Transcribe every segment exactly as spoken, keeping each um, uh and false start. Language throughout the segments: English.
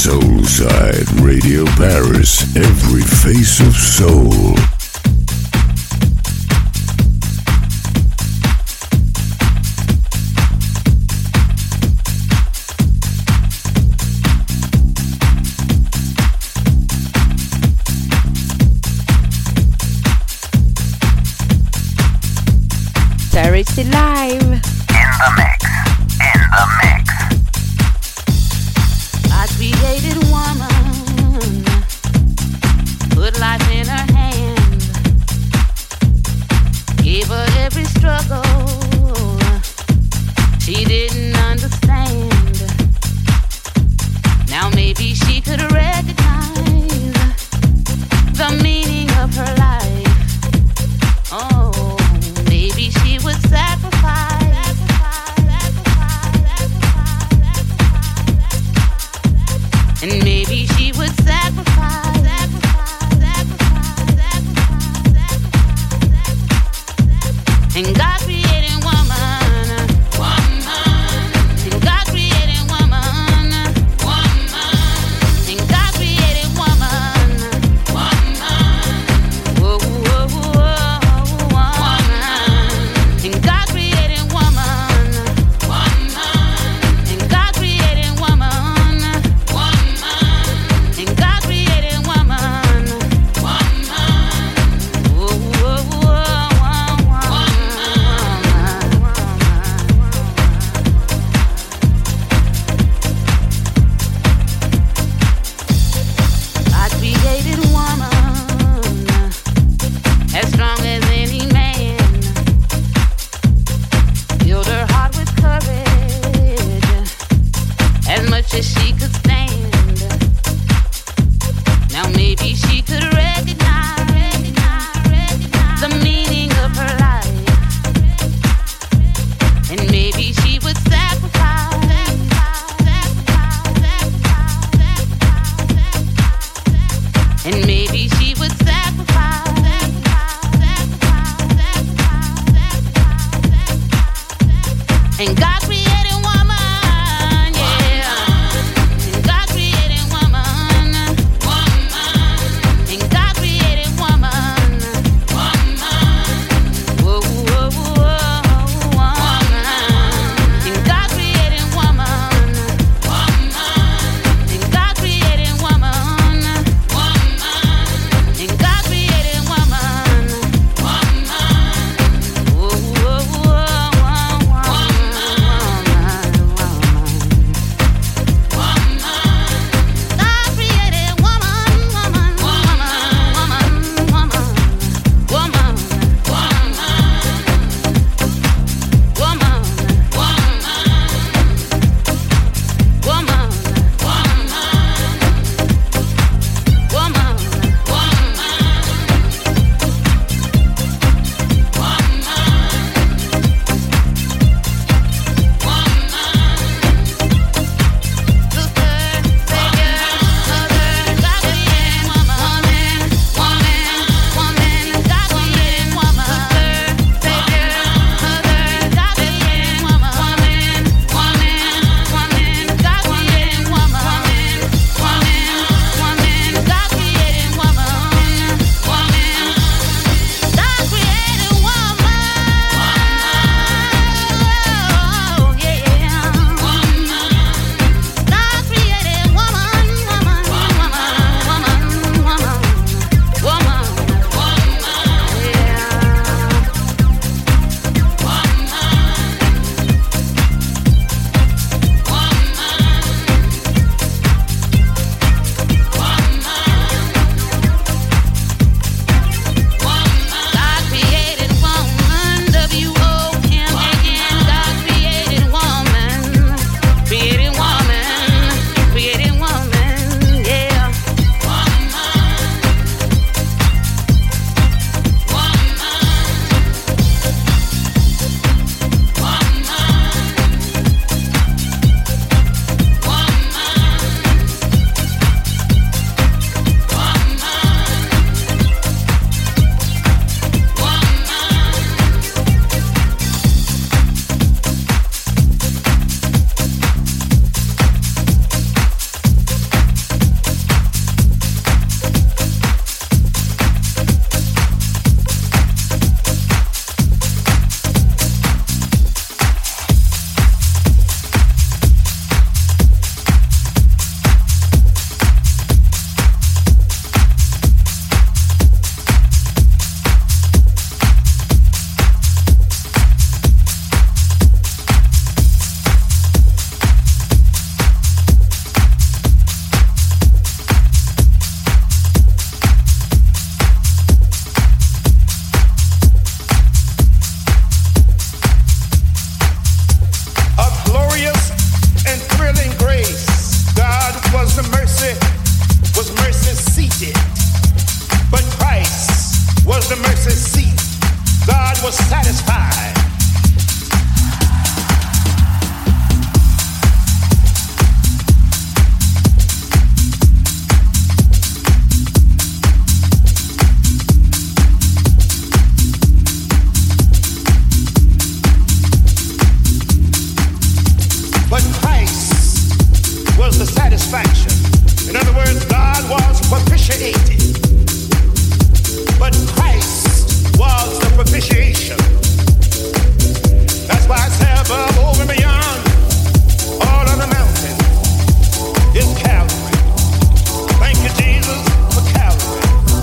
Soulside Radio Paris, every face of soul. Charity Live. In the mix, in the mix. I created woman, put life in her hand, gave her every struggle she didn't understand. Now maybe she could recognize the meaning of her life. Oh, maybe she would sacrifice. And maybe she would sacrifice, sacrifice, sacrifice, sacrifice. And God created woman, woman. And God created woman, woman. And God created woman, woman. Whoa, whoa, whoa, woman. And God created woman, woman. And God created woman. And God created woman, woman. Whoa, whoa, whoa, woman. I created woman, as strong as any man. Filled her heart with courage, as much as she could stand. Now maybe she could recognize, recognize, recognize the meaning of her life. And maybe she would sacrifice, sacrifice, sacrifice, sacrifice. And maybe she would sacrifice, sacrifice, sacrifice, sacrifice. And God created woman, yeah. And but Christ was the satisfaction. In other words, God was propitiated, but Christ was the propitiation. That's why I say above, over, and beyond all of the mountains is Calvary. Thank you, Jesus, for Calvary.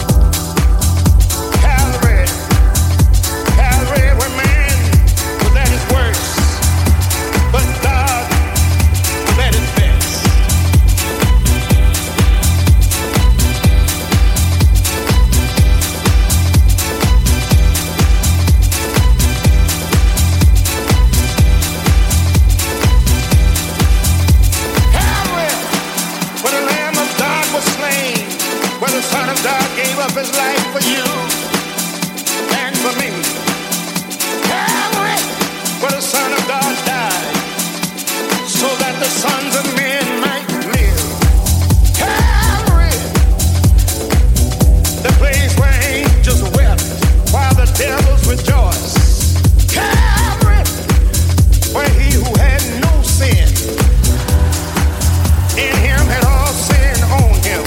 Calvary, Calvary, where man was at his worst, but God was at his best. Where the Son of God gave up his life for you and for me. Calvary, where the Son of God died so that the sons of men might live. Calvary, the place where angels wept while the devils rejoiced. Calvary, where he who had no sin in him had all sin on him.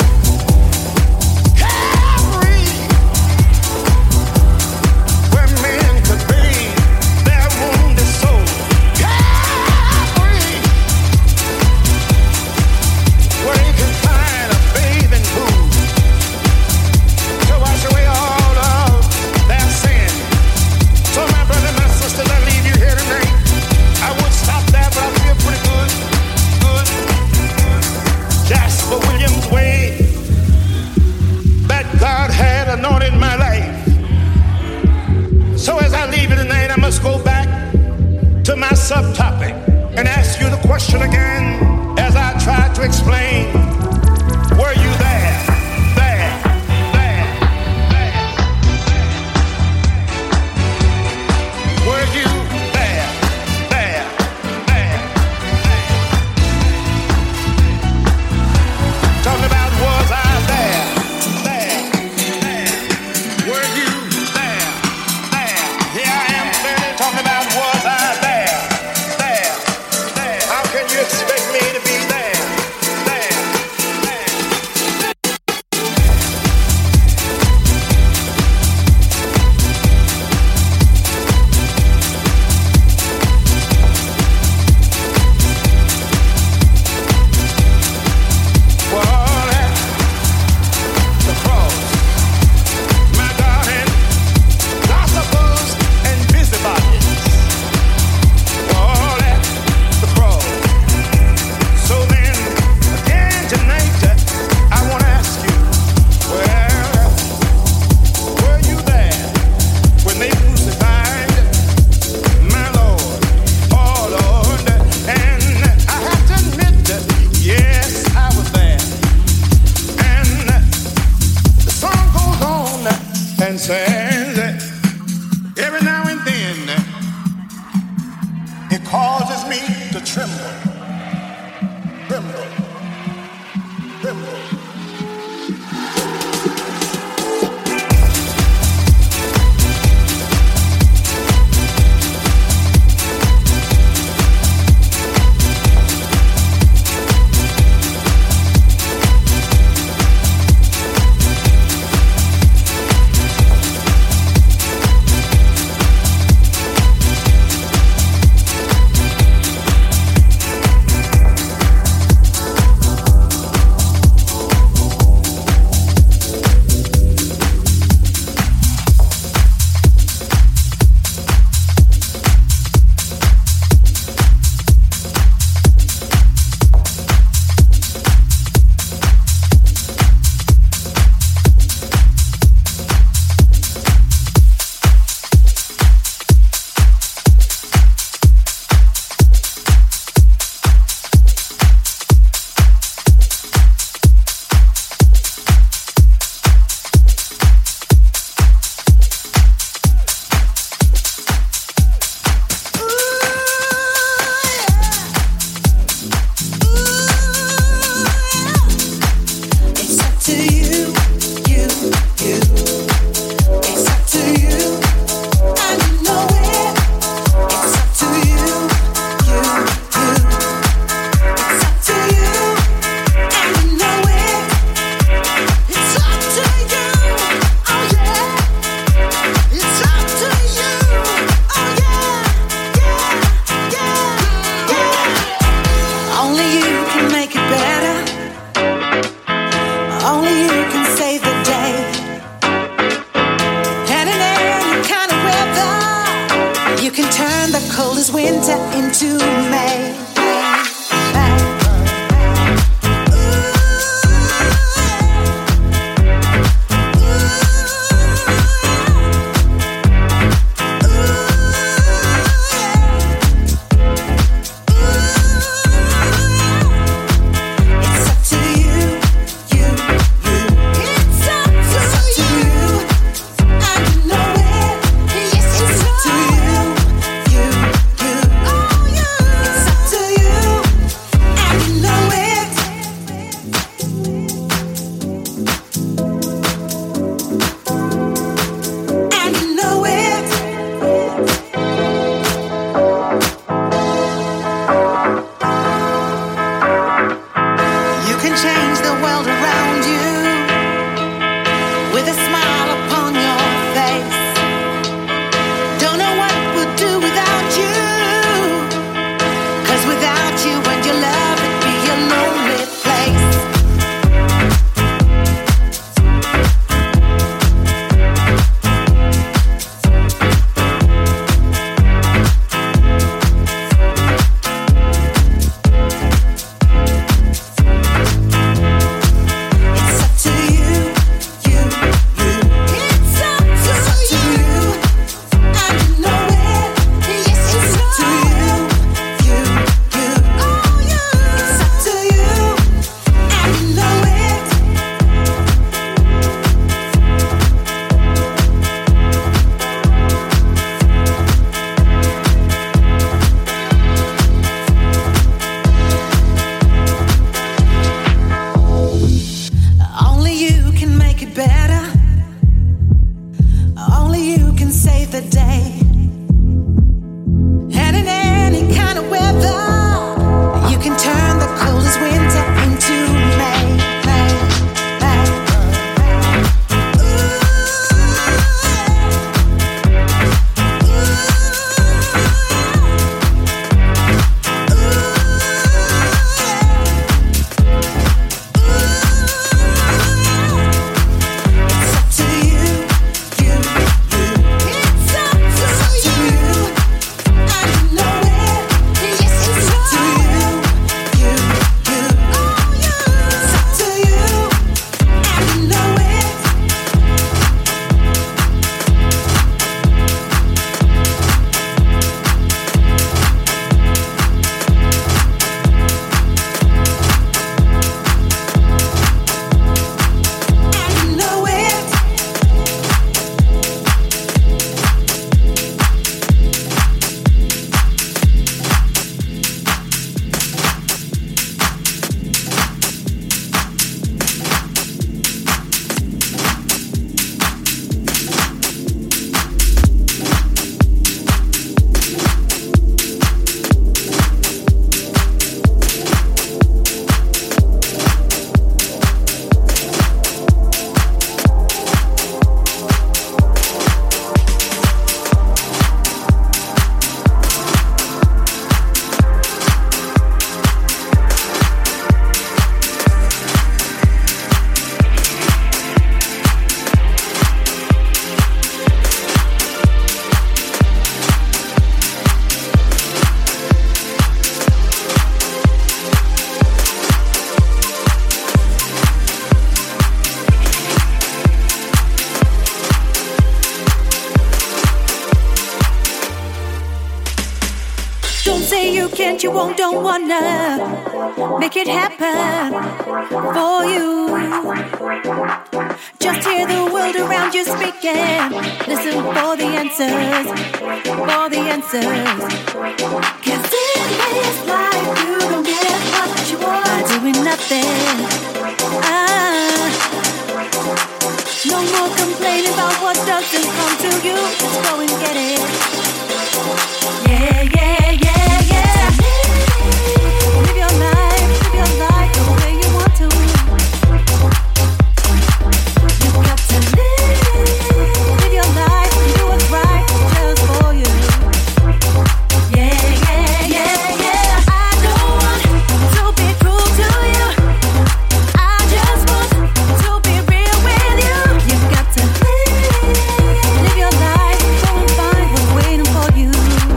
Go back to my subtopic and ask you the question again as I try to explain. Were you there? There, there, there. Were you there? There, there, there. Talking about was I there? There, there. Were you there? There. Here I am. Talking about was I there, there, there. How can you expect me to be there, there, what you want, don't wanna make it happen for you. Just hear the world around you speaking. Listen for the answers, for the answers. Cause in this life you don't get what you want by doing nothing. Ah, no more complaining about what doesn't come to you. Just go and get it. Yeah, yeah, yeah, yeah. Live your life, live your life the way you want to. You got to live, live your life and do what's right just for you. Yeah, yeah, yeah, yeah. I don't want to be cruel to you. I just want to be real with you. You got to live, live your life, go and find what's waiting for you.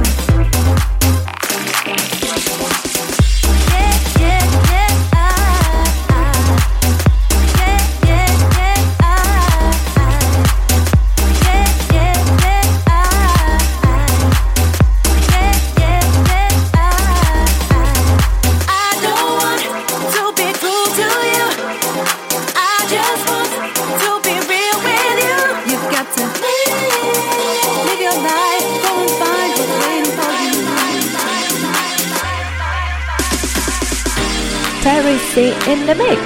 Terry C in the mix.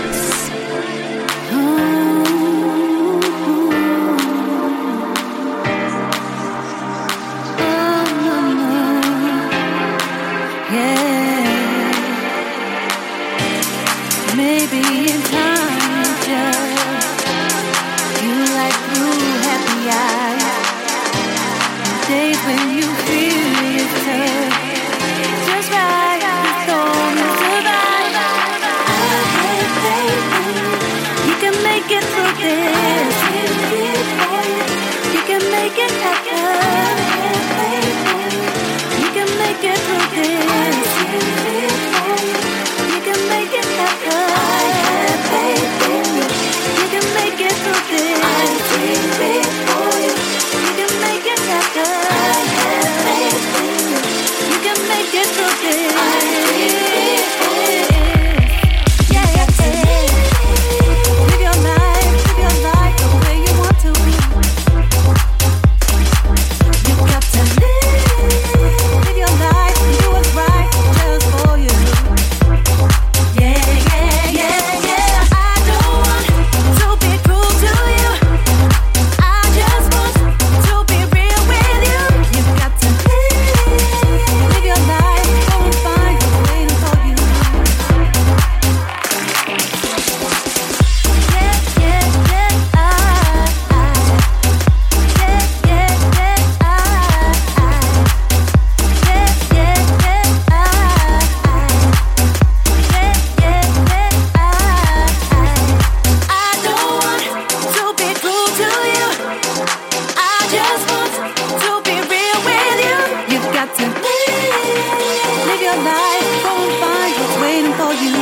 Maybe in time, just you like blue happy eyes. Days when you feel it's tough, just right, the storm is survive. I have faith in you. You can make it through this. You can make it happen. You can make it through this. You can make it happen. I have faith in you. You can make it through this. I dream big for you. You can make it happen. I have faith in you. You can make it through this. I dream big for you. Yeah, yeah, yeah. Live your life, live your life the way you want to. You got to live, live your life and do what's right just for you. Yeah, yeah, yeah, yeah. I don't want to be cruel to you. I just want to be real with you. You got to live, live your life, go and find what's waiting for you. Yeah, yeah, yeah, I, I. Yeah, yeah, yeah, I, I. Yeah, yeah, yeah, I, I. Yeah, yeah, yeah, I, I don't want to be cruel to you. I just want to be real with you. You got to live, live your life, go and find what's waiting for you.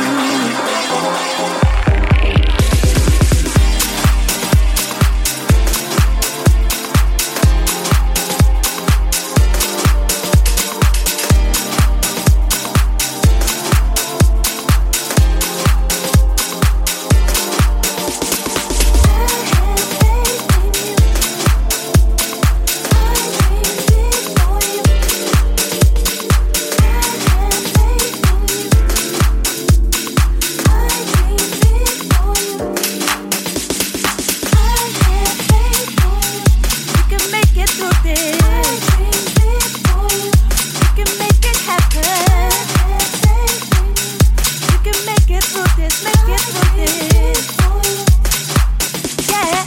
You can make it through this. You can make it happen. You can make it through this, make it through this. Yeah.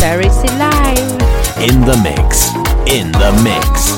Terry C Live. In the mix. In the mix.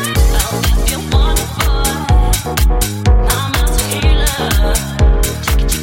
Chicky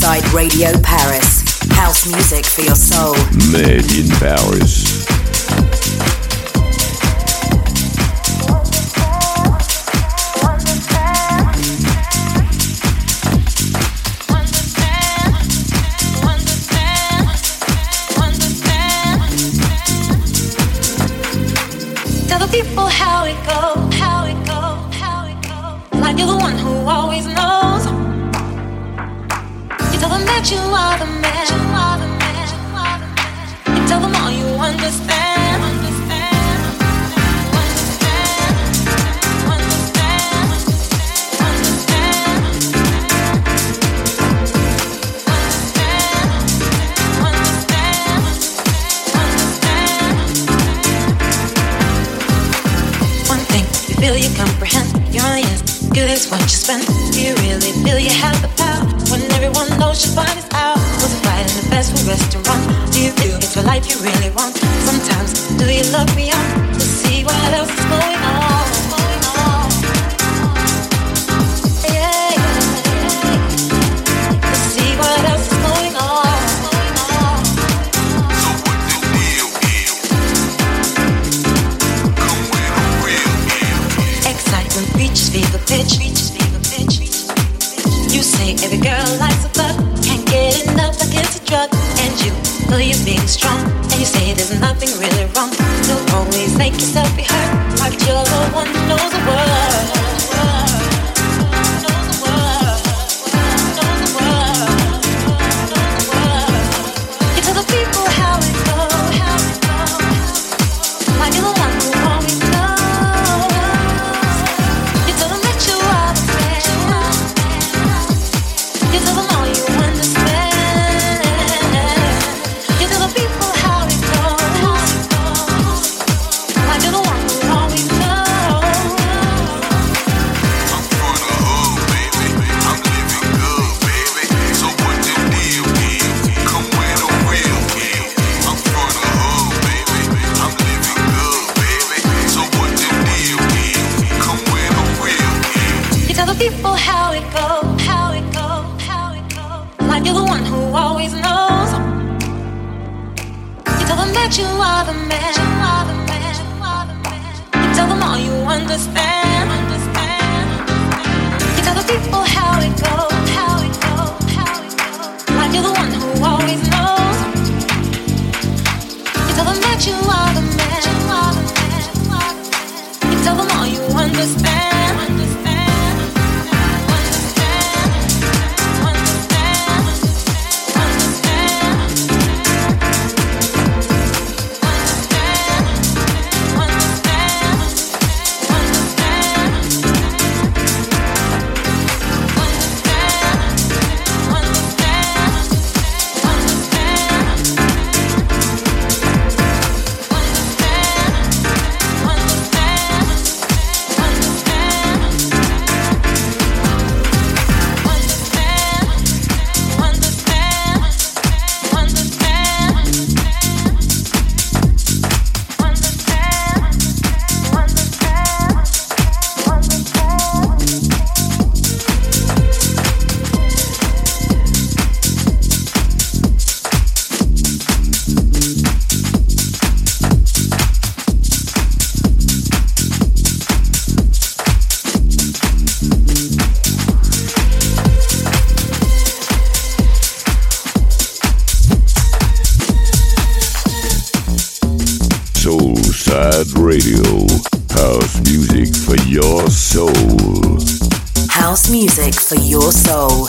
Soulside Radio Paris. House music for your soul. Made in Paris. Tell the people how it goes, how it goes, how it goes. Like you're the one who always knows. You tell them that you are the man, you are the man, you are the man. You tell them all you understand, understand, understand, understand, understand, understand, understand, understand. One thing you feel you comprehend, you're only as good as what you spend. Do you really feel you have the power when everyone knows your body's out? Was it right in the fast food restaurant? Do you feel it's the life you really want? Sometimes, do you look beyond to see what else is going on? Going on? Yeah, yeah, yeah. To see what else is going on? Going on? So what the deal is? Come with a real deal. Excitement reaches fever pitch, reaches fever pitch. You say every girl likes a thug, can't get enough like it's a drug. And you feel you're being strong, and you say there's nothing really wrong. You'll always make yourself be hurt, like you're the one who knows the world. Knows the world, knows the world, knows the world. You tell the people how it goes, how it goes, like you're the one who always knows. You tell them that you are the man. You tell them all you understand. You tell the people how it goes, like you're the one who always knows. I'm from the hood, baby. I'm living good, baby. So what the deal is? Come with a real deal. I'm from the hood, baby. I'm living good, baby. So what the deal is? Come with a real deal. You tell the people how it goes, how it goes, how it goes, like you're the one who always knows. You tell them that you are the man, you are the man, you are the man. You tell them all you understand, understand. You tell the people how it goes, how it goes, how it goes, like you're the one who always knows. You tell them that you are the man, you are the man, you are the man. You tell them all you understand, understand, understand, understand, understand. Soulside Radio. House music for your soul. House music for your soul.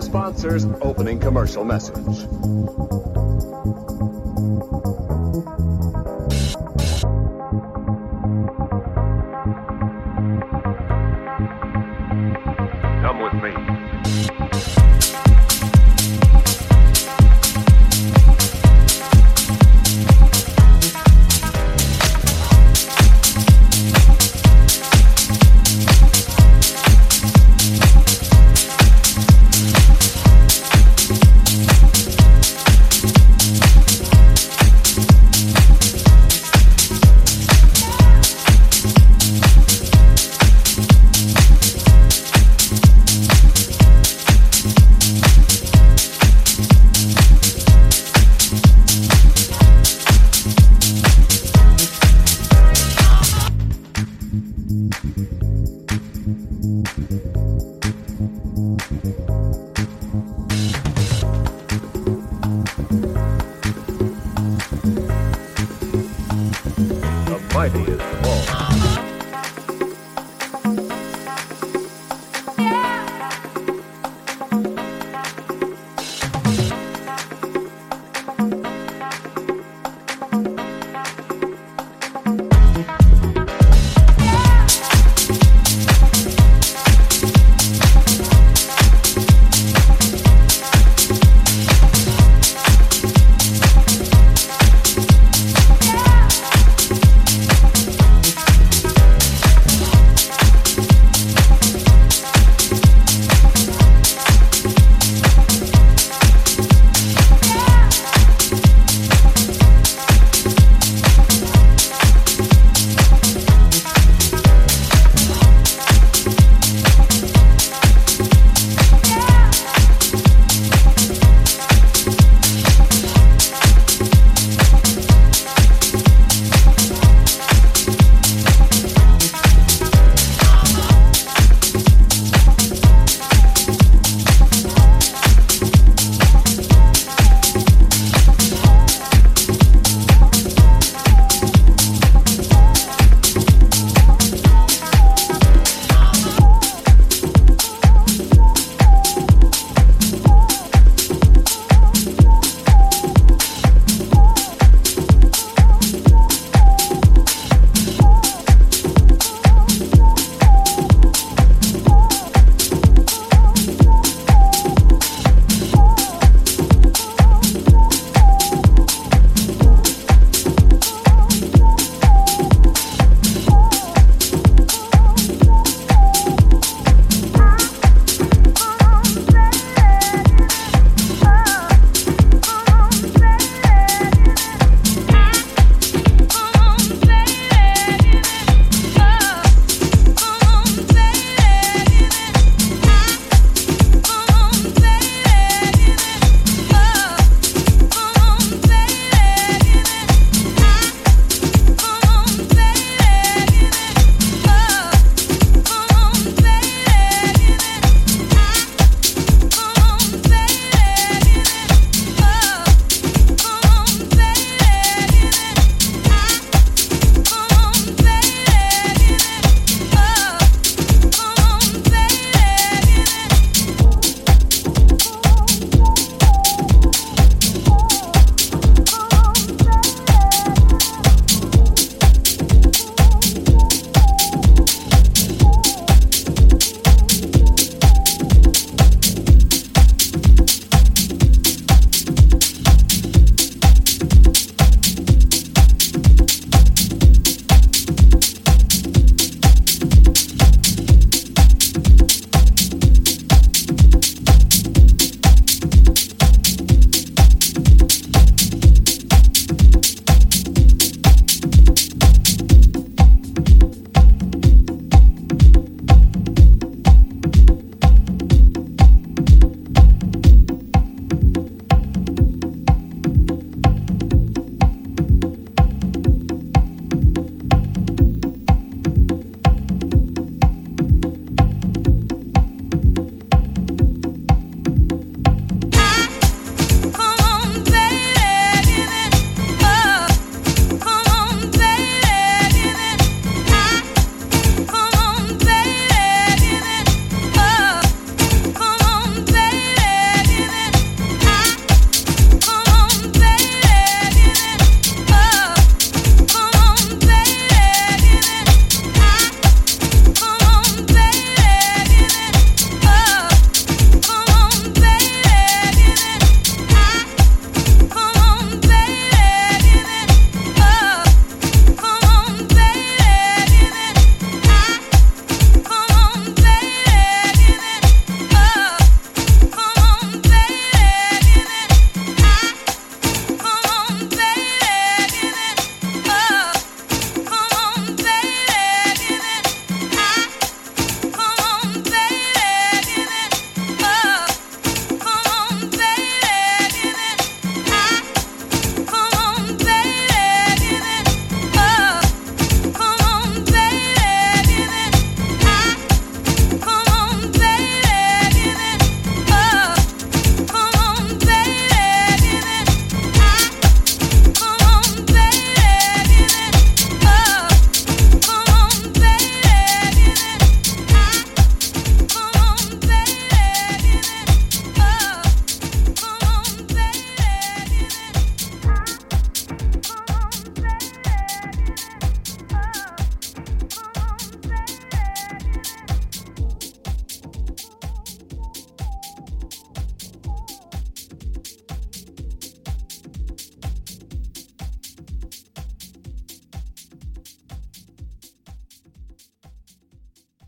sponsor's opening commercial message. Come with me.